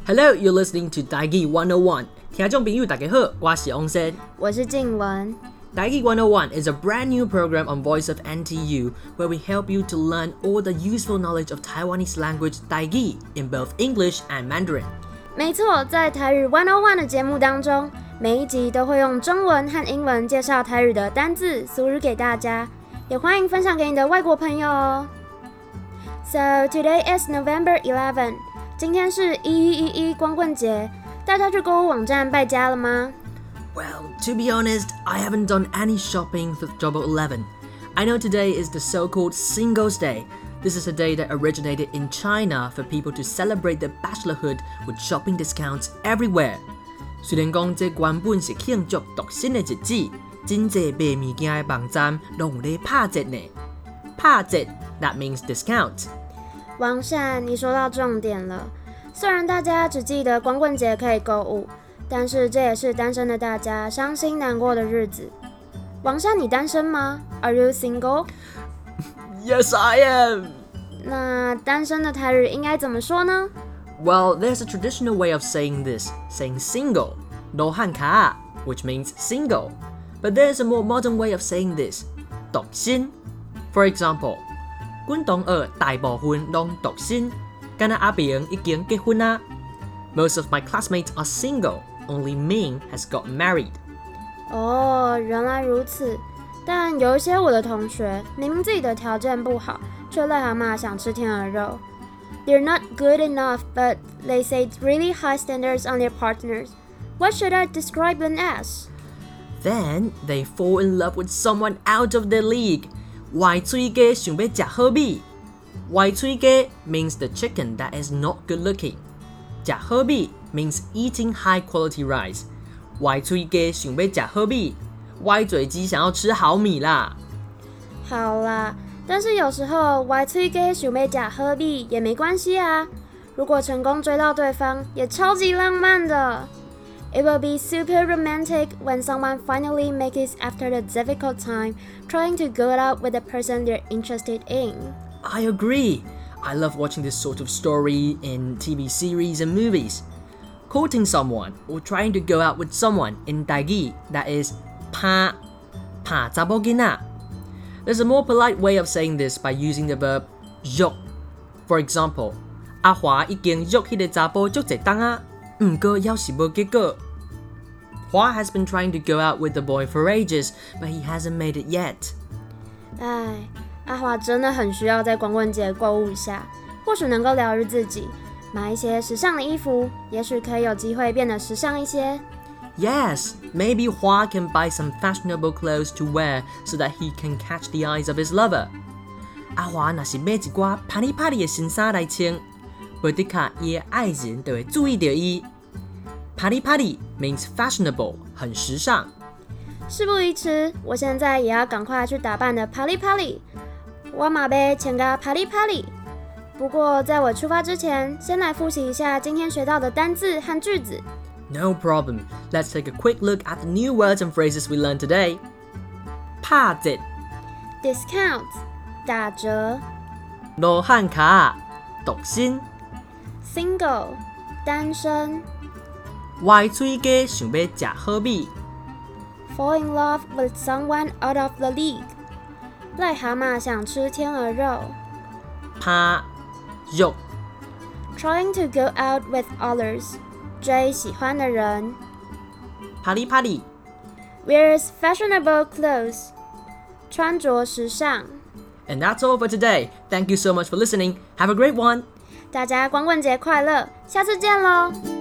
Hello, you're listening to Taigi 101. 聽眾朋友大家好，我是翁生， 我是靜文。 Taigi 101 is a brand new program on Voice of NTU where we help you to learn all the useful knowledge of Taiwanese language Taigi in both English and Mandarin. 沒錯，在台語101的節目當中，每一集都會用中文和英文介紹台語的單字、俗語給大家，也歡迎分享給你的外國朋友哦。So today is November 11. 今天是1111光棍節，大家去購物網站敗家了嗎？ Well, to be honest, I haven't done any shopping for Double 11. I know today is the so-called Singles Day. This is a day that originated in China for people to celebrate their bachelorhood with shopping discounts everywhere. 雖然講這原本是慶祝獨身的日子，真濟賣物件的網站都有在拍折呢。拍折 that means discount. 王善，你說到重點了。雖然大家只記得光棍節可以購物，但是這也是單身的大家傷心難過的日子。王善，你單身嗎？ Are you single? Yes, I am. 那單身的台語應該怎麼說呢？ Well, there's a traditional way of saying this, saying single, no han ka, which means single. But there's a more modern way of saying this, 獨身. For example, 阮同學大部分都獨身，敢若阿平已經結婚啦。Most of my classmates are single, only Ming has got married. 哦，原來如此。但有一些我的同學，明明自己的條件不好，卻癩蛤蟆想吃天鵝肉。They're not good enough, but they say really high standards on their partners. What should I describe them as? Then they fall in love with someone out of their league. 歪嘴雞想要吃好米。歪嘴雞 means the chicken that is not good looking. 吃好米 means eating high quality rice. 歪嘴雞想要吃好米，歪嘴雞想要吃好米啦。 好啦，但是有時候歪嘴雞想要吃好米也沒關係啊。如果成功追到對方，也超級浪漫的。It will be super romantic when someone finally makes it after the difficult time trying to go out with the person they're interested in. I agree. I love watching this sort of story in TV series and movies. Courting someone or trying to go out with someone in Taigi, that is 拍查某囡仔. There's a more polite way of saying this by using the verb 約. For example, 阿華已經約迄個查甫足濟冬啊，不過還是無結果。Hua has been trying to go out with the boy for ages, but he hasn't made it yet. 唉，阿華真的很需要在光棍節購物一下，或許能夠療癒自己，買一些時尚的衣服，也許可以有機會變得時尚一些。 Yes, maybe Hua can buy some fashionable clothes to wear so that he can catch the eyes of his lover. 阿華若是買一寡啪哩啪哩的新衫來穿，不的確伊的愛人就會注意到伊。啪哩啪哩 means fashionable, 很時尚。 事不宜遲，我現在也要趕快去打扮的啪哩啪哩。我嘛要穿個啪哩啪哩。不過在我出發之前，先來複習一下今天學到的單字和句子。 No problem. Let's take a quick look at the new words and phrases we learned today. 拍折 Discount 打折。 羅漢卡獨身 Single 單身。 歪嘴雞想要吃好米 Fall in love with someone out of the league 癩蛤蟆想吃天鵝肉。 拍約 Trying to go out with others 追喜歡的人。 啪哩啪哩 Wears fashionable clothes 穿着時尚。 And that's all for today. Thank you so much for listening. Have a great one. 大家光棍節快樂，下次見囉。